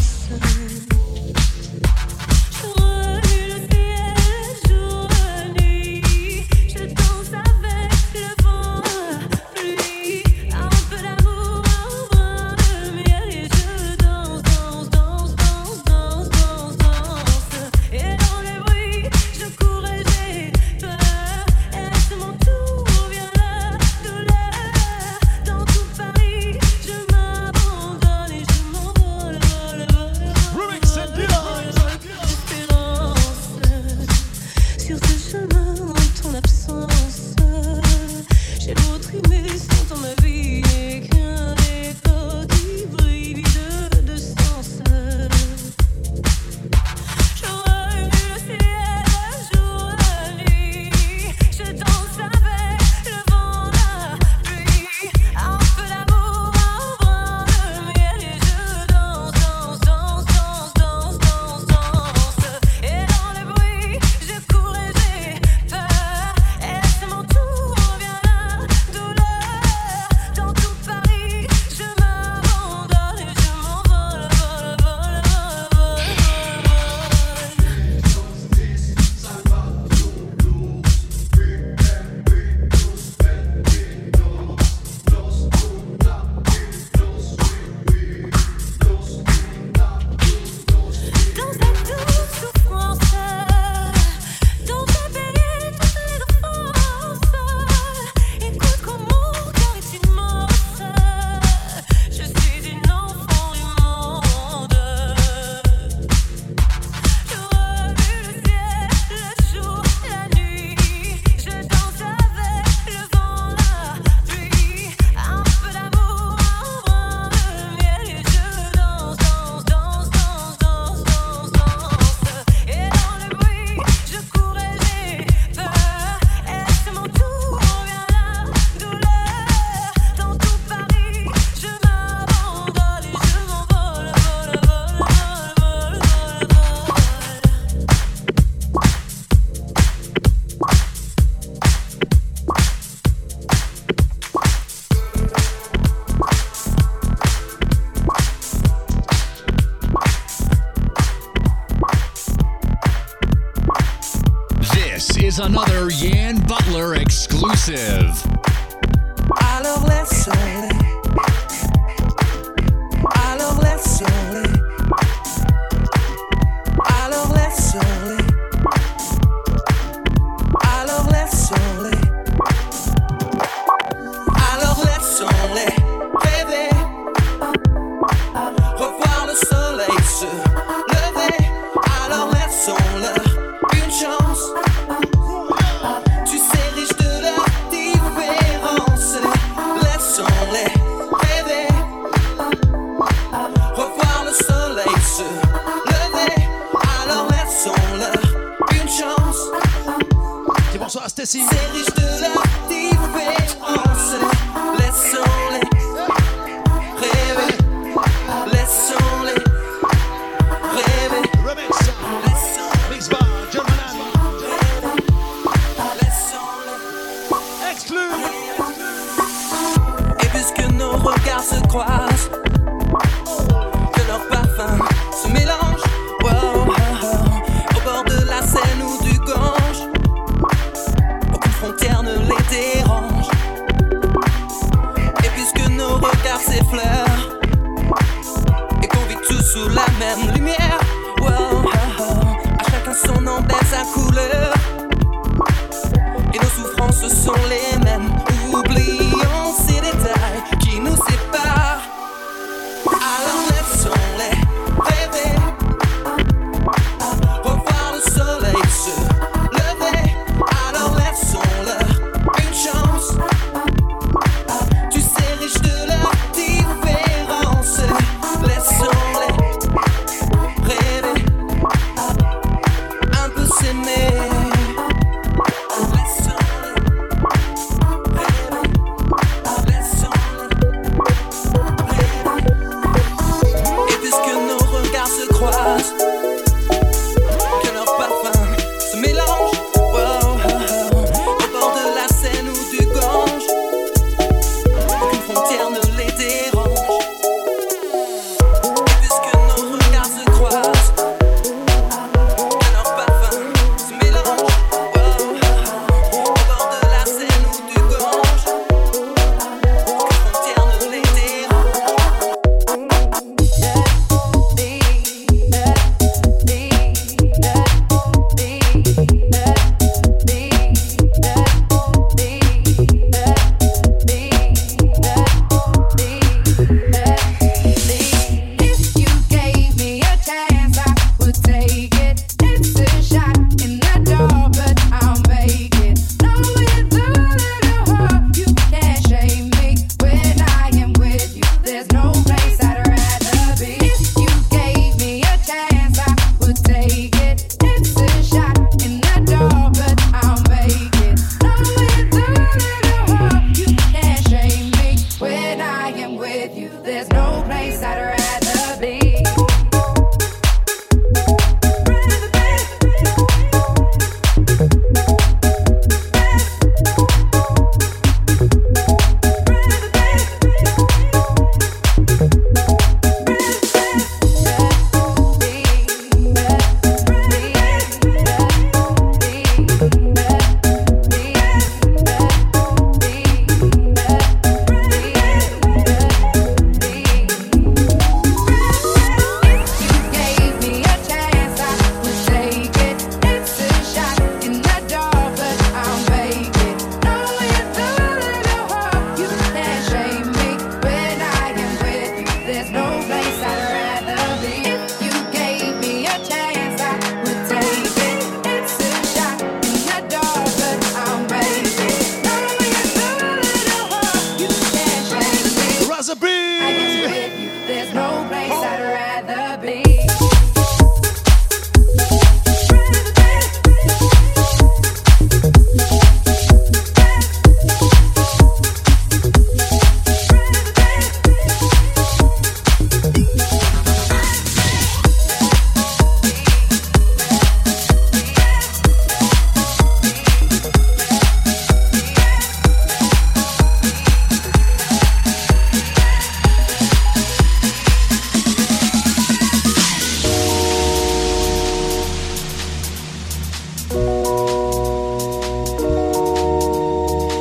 Another Yan Butler exclusive. Alors laisse-les. Alors laisse-les. Alors laisse-les. Alors laisse-les. Alors laisse-les rêver. Revoir le soleil se lever. Alors laissons-leur une chance. Bonsoir Stacy. C'est riche de la différence. Laissons-les rêver. Laissons-les rêver. Remix. Mix bar, John Manan. Laissons-les exclus. Et puisque nos regards se croisent, que leurs parfums se mélangent, wow, au bord de la Seine ou du Gange, frontières ne les dérange. Et puisque nos regards s'effleurent et qu'on vit tous sous la même lumière, wow, à chacun son nom, sa couleur. Et nos souffrances sont les mêmes. Oublions ces détails qui nous séparent. Alors laissons-les rêver. Revoir le soleil se lever. Alors laissons-leur une chance. Tu sais, riche de leur différence. Laissons-les rêver. Un peu s'aimer. Laissons-les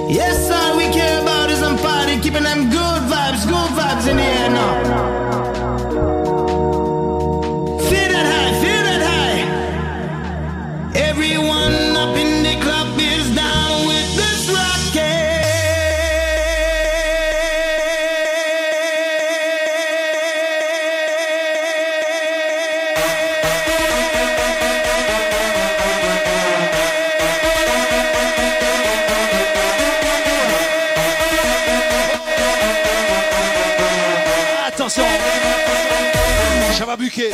Yes, all we care about is some party, keeping them good vibes in the air now. Feel that high. Everyone up in the club is down with this rocket. Attention, ça va buquer.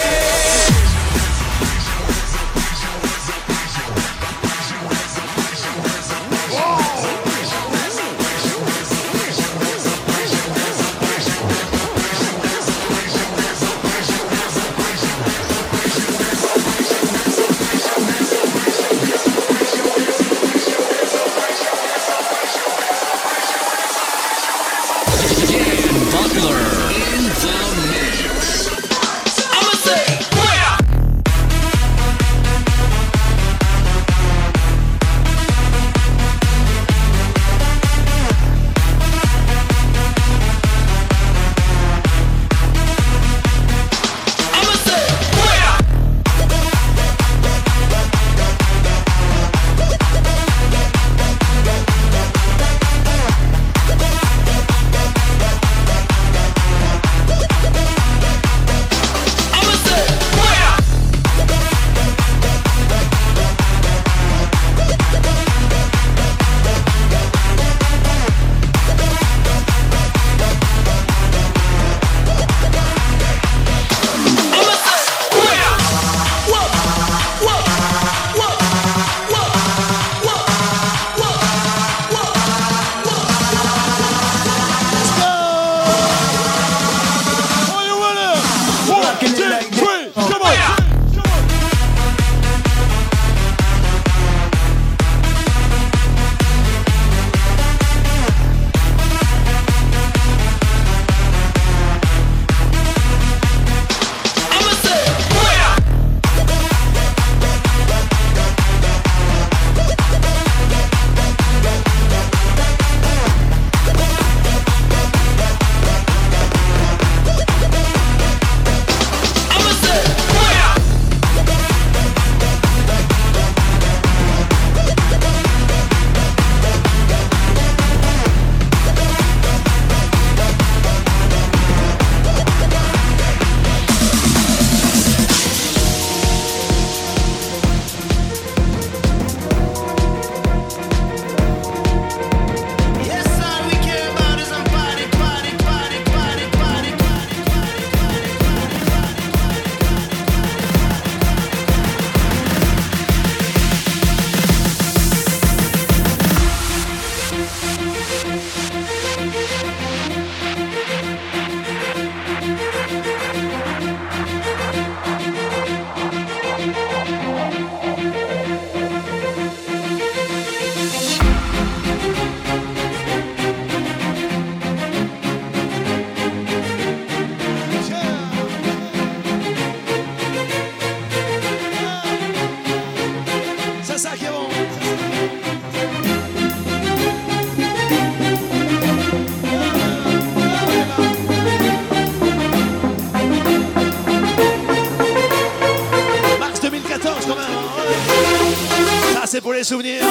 C'est pour les souvenirs.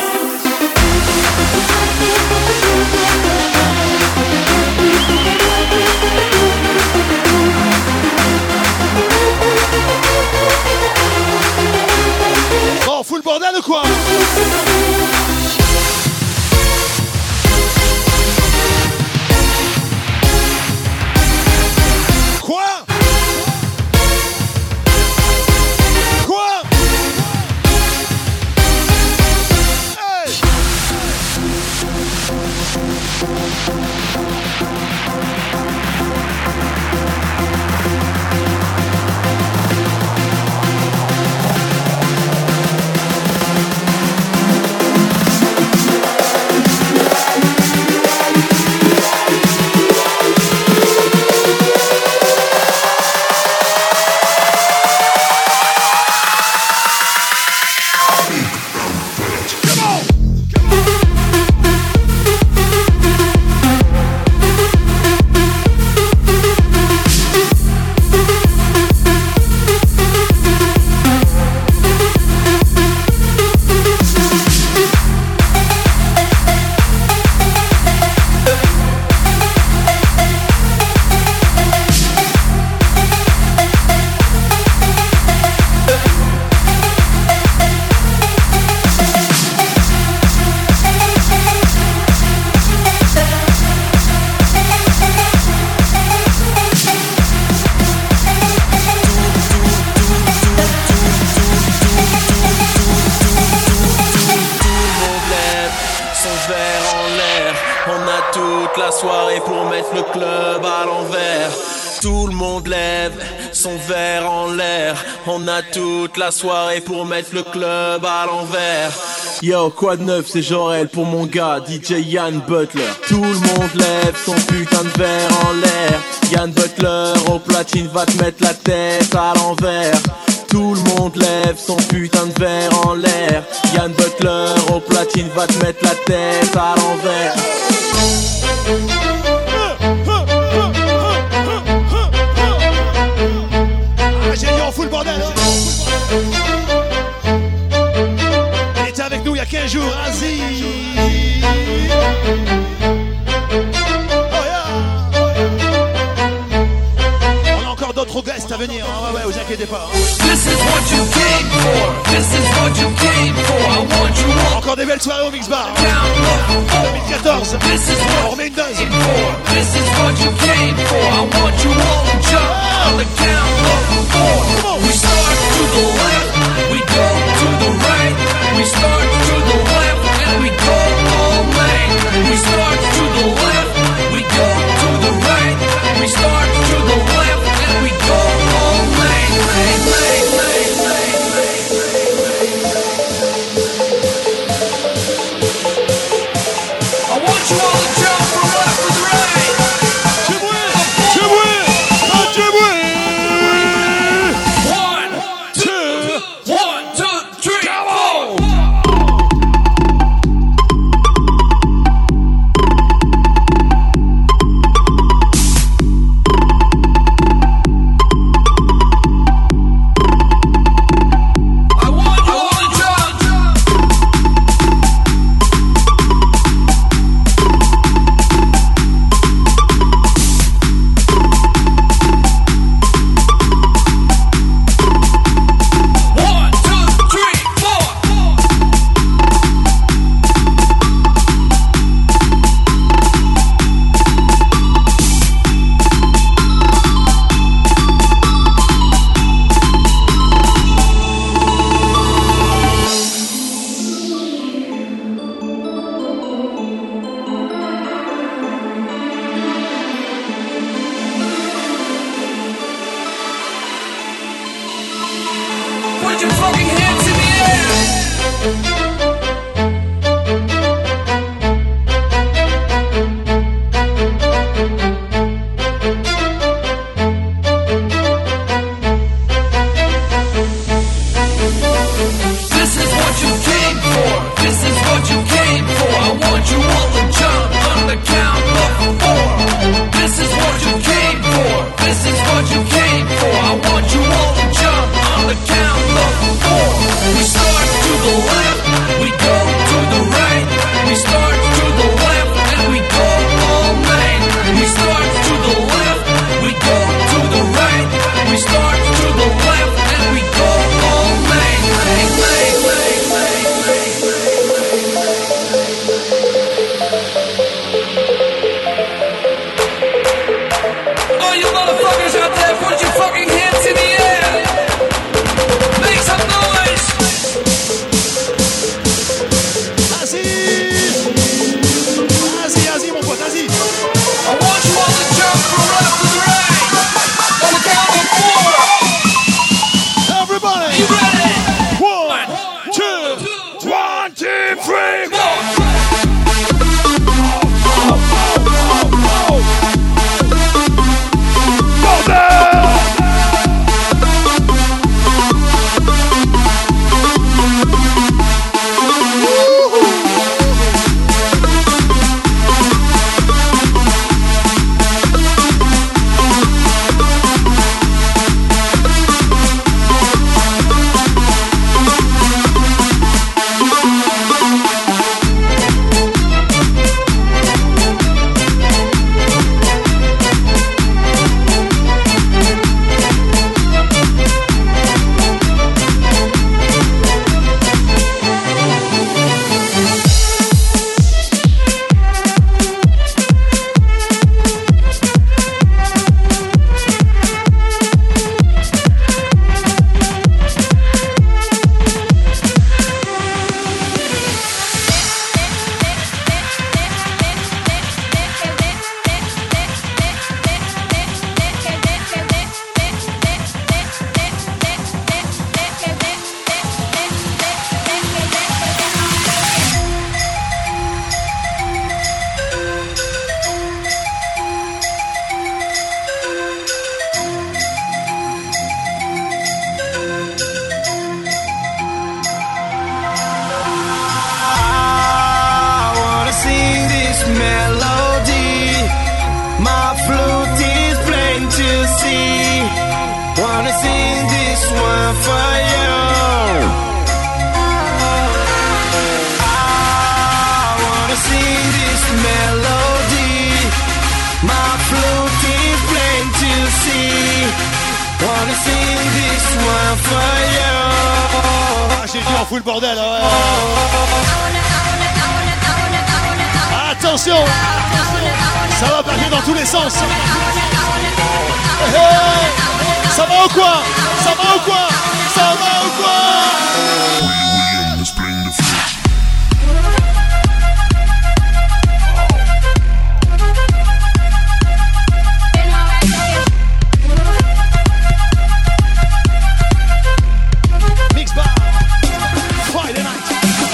Bon, full bordel ou quoi? verre en l'air. On a toute la soirée pour mettre le club à l'envers. Tout le monde lève son verre en l'air. On a toute la soirée pour mettre le club à l'envers. Yo, quoi de neuf, c'est Jorel pour mon gars, DJ Yann Butler. Tout le monde lève son putain de verre en l'air. Yann Butler au platine va te mettre la tête à l'envers. Tout le monde lève son putain de verre en l'air. Yann Butler au platine va te mettre la tête à l'envers. J'ai dit on fout le bordel. Il était avec nous il y a 15 jours, Aziz. On a encore d'autres guests à venir, hein. Ouais, vous inquiétez pas. This is what you came for. This is what you came for. I want you all. Encore des belles soirées au Mix Bar. 2014. On remet une dose. This is what you came for. I want you all to jump on the count of 4. We start to the left, we go to the right. We start to the left and we go all night. We start to the left, we go to the right. We start to the left and we go all night. I want you all to jump from left to right. this melody. My flute is plain to see. Wanna sing this one for you. I wanna sing this melody. My flute is plain to see. Wanna sing this one for you. Ah, j'ai dit on fout le bordel, ouais. Attention, ça va partir dans tous les sens. Hey, hey, ça va ou quoi? Ça va ou quoi? Ça va ou quoi? Mix bar, Friday night.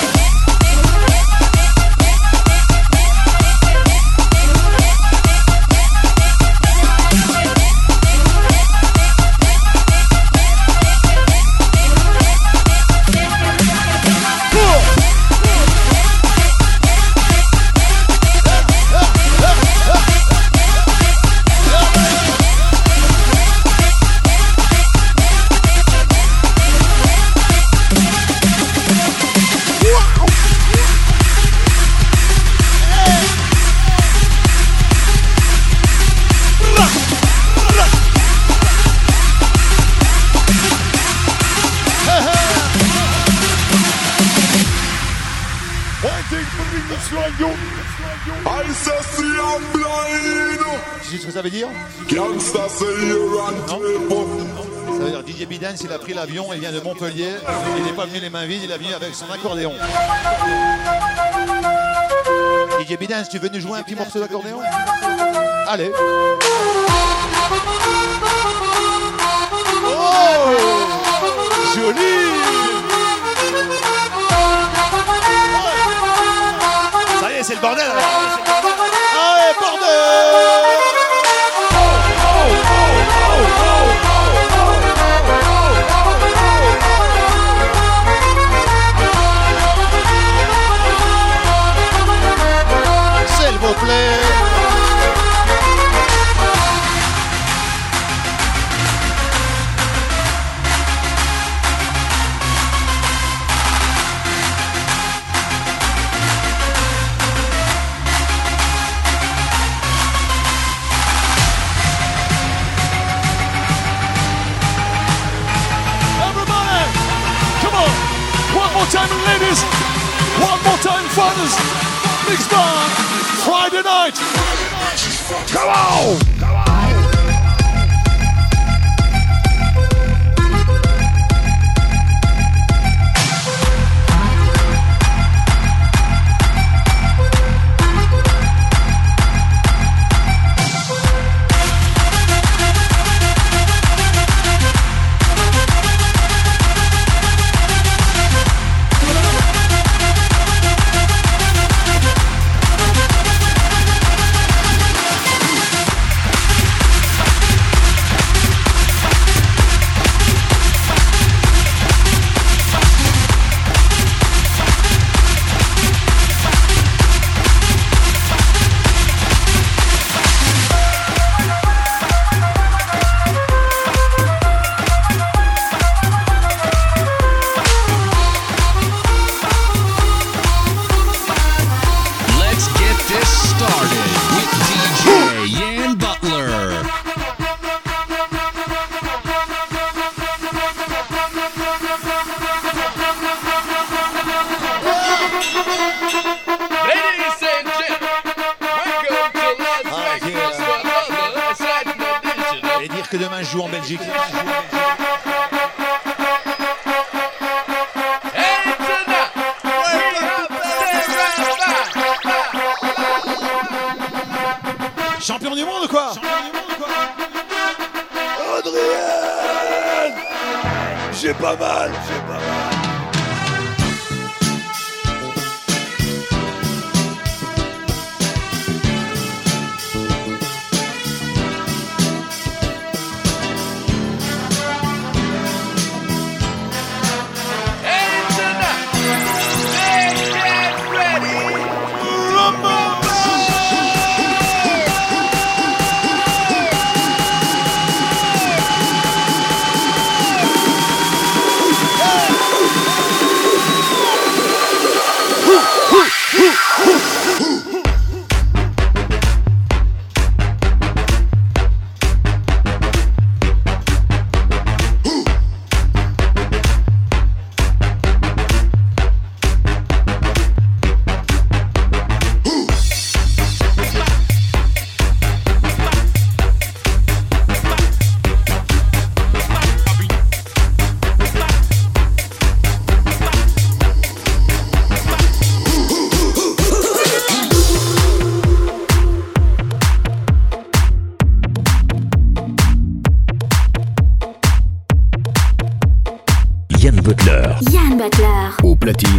Tu sais ce que ça veut dire? Non. Ça veut dire DJ Bidance, il a pris l'avion, il vient de Montpellier, il n'est pas venu les mains vides, il est venu avec son accordéon. DJ Bidance, tu veux nous jouer un petit morceau d'accordéon? Allez. Oh, joli. Ça y est, c'est le bordel alors. Allez, bordel. S'il vous plaît. One more time, ladies. One more time, fathers. Mix bar, Friday night. Come on. Que demain je joue en Belgique. Champion du monde ou quoi? Adrien, j'ai pas mal. platine.